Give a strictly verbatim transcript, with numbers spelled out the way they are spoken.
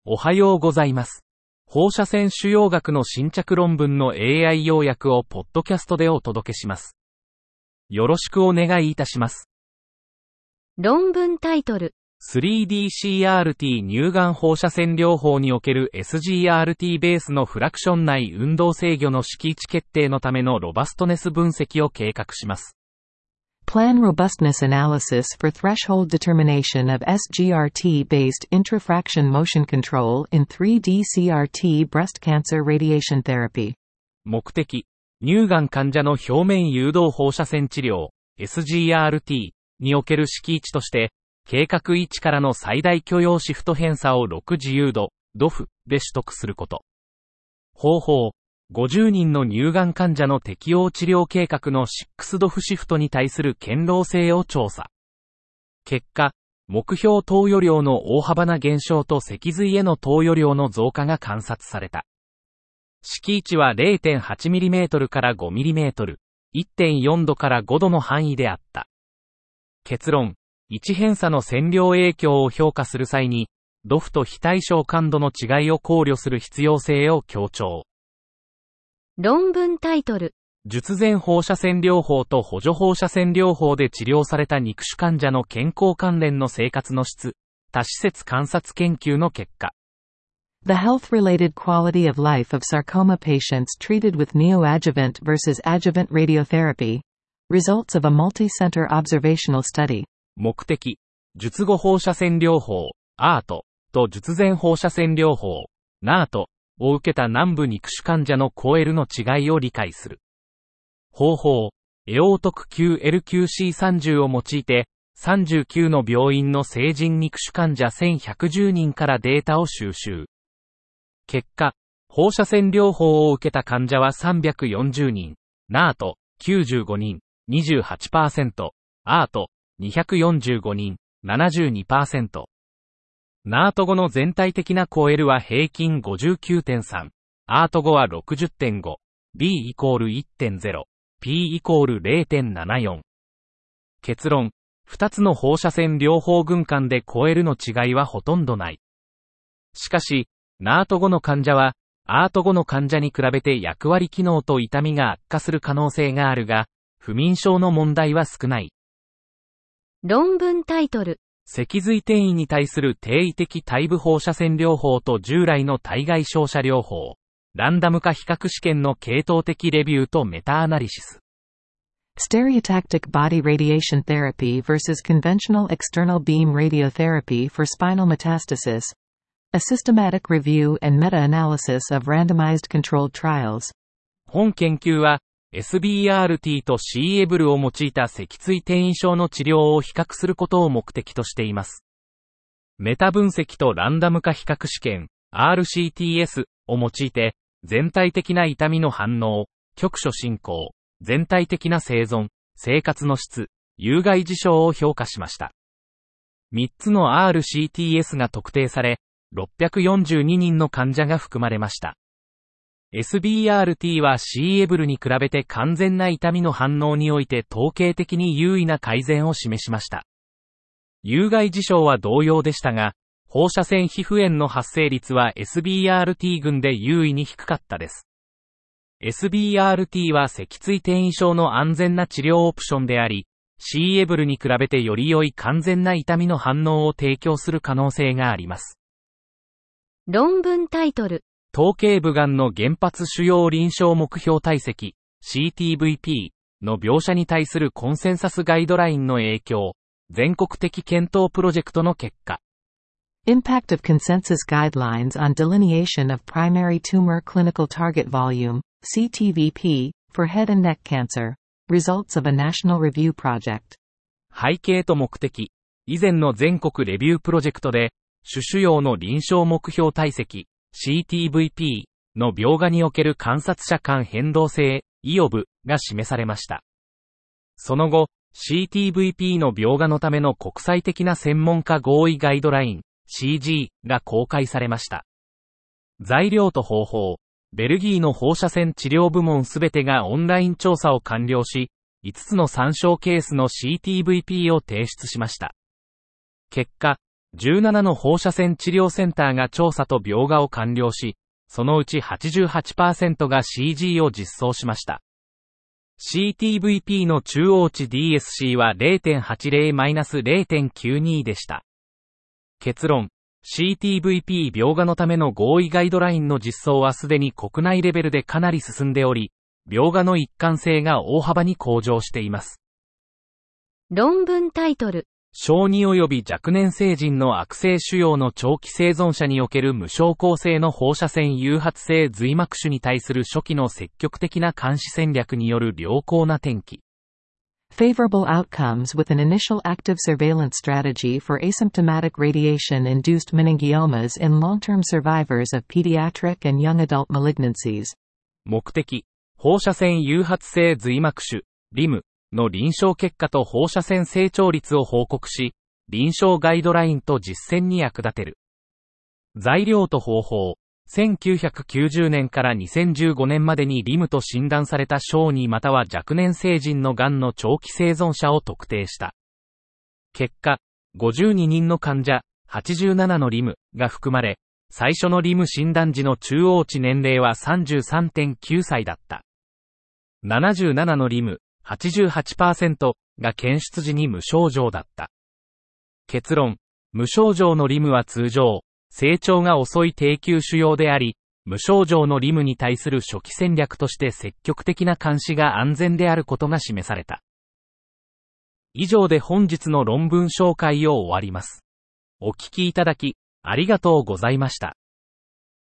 おはようございます。放射線腫瘍学の新着論文の エーアイ 要約をポッドキャストでお届けします。よろしくお願いいたします。 論文タイトル。 スリーディーシーアールティー 乳がん放射線療法における エスジーアールティー ベースのフラクション内運動制御の式位置決定のためのロバストネス分析を計画します。 Plan robustness analysis for threshold determination ofエスジーアールティー based intrafraction motion control in スリーディーシーアールティー breast cancer radiation therapy。 目的、乳がん患者の表面誘導放射線治療、エスジーアールティー における式位置として、計画位置からの最大許容シフト偏差をろく自由度、ドフ で取得すること。方法、ごじゅうにんの乳がん患者の適応治療計画のろくドフシフトに対する堅牢性を調査。結果、目標投与量の大幅な減少と脊髄への投与量の増加が観察された。式位置は れいてんはちミリメートル から ごミリメートル、いってんよんどからごどの範囲であった。結論、位置偏差の線量影響を評価する際に、ドフと非対称感度の違いを考慮する必要性を強調。 論文タイトル。 術前放射線療法と補助放射線療法で治療された肉腫患者の健康関連の生活の質、多施設観察研究の結果。 The health-related quality of life of sarcoma patients treated with neoadjuvant versus adjuvant radiotherapy. Results of a multi-center observational study。 目的、術後放射線療法、アート と術前放射線療法、ナート を受けた南部肉腫患者のコーエルの違いを理解する。方法、エオートク キューエルキューシーさんじゅう を用いて、さんじゅうきゅうの病院の成人肉腫患者せんひゃくじゅうにんからデータを収集。結果、放射線療法を受けた患者はさんびゃくよんじゅうにん、ナートきゅうじゅうごにん、にじゅうはちパーセント、アートにひゃくよんじゅうごにん、ななじゅうにパーセント。ナート後の全体的なコエルは平均 ごじゅうきゅうてんさん、アート後は ろくじゅってんご、B イコール いってんゼロ、P イコール れいてんななよん。結論、ふたつの放射線療法群間でコエルの違いはほとんどない。しかし、ナート後の患者は、アート後の患者に比べて役割機能と痛みが悪化する可能性があるが、不眠症の問題は少ない。 論文タイトル。 脊髄転移に対する定位的対部放射線療法と従来の対外照射療法、ランダム化比較試験の系統的レビューとメタアナリシス。 Stereotactic body radiation therapy versus conventional external beam radiotherapy for spinal metastasis. A systematic review and meta-analysis of randomized controlled trials。 本研究は、エスビーアールティー と シーエブル を用いた脊椎転移症の治療を比較することを目的としています。メタ分析とランダム化比較試験、アールシーティーエス を用いて、全体的な痛みの反応、局所進行、全体的な生存、生活の質、有害事象を評価しました。みっつの アールシーティーエス が特定され、ろっぴゃくよんじゅうににんの患者が含まれました。エスビーアールティー は シーエブル に比べて完全な痛みの反応において統計的に優位な改善を示しました。有害事象は同様でしたが、放射線皮膚炎の発生率は エスビーアールティー 群で優位に低かったです。エスビーアールティー は脊椎転移症の安全な治療オプションであり、シーエブル に比べてより良い完全な痛みの反応を提供する可能性があります。 論文タイトル。 頭頸部がんの原発腫瘍臨床目標体積 シーティーブイピー の描写に対するコンセンサスガイドラインの影響、全国的検討プロジェクトの結果。 Impact of consensus guidelines on delineation of primary tumor clinical target volume シーティーブイピー for head and neck cancer. Results of a national review project。 背景と目的。以前の全国レビュープロジェクトで、主腫瘍の臨床目標体積シーティーブイピー の描画における観察者間変動性 イーオーブ が示されました。その後、シーティーブイピー の描画のための国際的な専門家合意ガイドライン シージー が公開されました。材料と方法、ベルギーの放射線治療部門すべてがオンライン調査を完了し、いつつの参照ケースの シーティーブイピー を提出しました。結果、 じゅうななの放射線治療センターが調査と描画を完了し、そのうち はちじゅうはちパーセント が シージー を実装しました。シーティーブイピー の中央値 ディーエスシー は ゼロてんはちゼロ−ゼロてんきゅうに でした。結論、シーティーブイピー 描画のための合意ガイドラインの実装はすでに国内レベルでかなり進んでおり、描画の一貫性が大幅に向上しています。 論文タイトル。 小児及び若年成人の悪性腫瘍の長期生存者における無症候性の放射線誘発性髄膜腫に対する初期の積極的な監視戦略による良好な転機。 Favorable outcomes with an initial active surveillance strategy for asymptomatic radiation-induced meningiomas in long-term survivors of pediatric and young adult malignancies. 目的、放射線誘発性髄膜腫、リム の臨床結果と放射線成長率を報告し、臨床ガイドラインと実践に役立てる。材料と方法。せんきゅうひゃくきゅうじゅうねんからにせんじゅうごねんまでにリムと診断された小児または若年成人のがんの長期生存者を特定した。結果、ごじゅうににんの患者、はちじゅうななのリムが含まれ、最初のリム診断時の中央値年齢は さんじゅうさんてんきゅうさいだった。ななじゅうななのリム、はちじゅうはちパーセント が検出時に無症状だった。結論、無症状のリムは通常、成長が遅い低級腫瘍であり、無症状のリムに対する初期戦略として積極的な監視が安全であることが示された。以上で本日の論文紹介を終わります。お聞きいただき、ありがとうございました。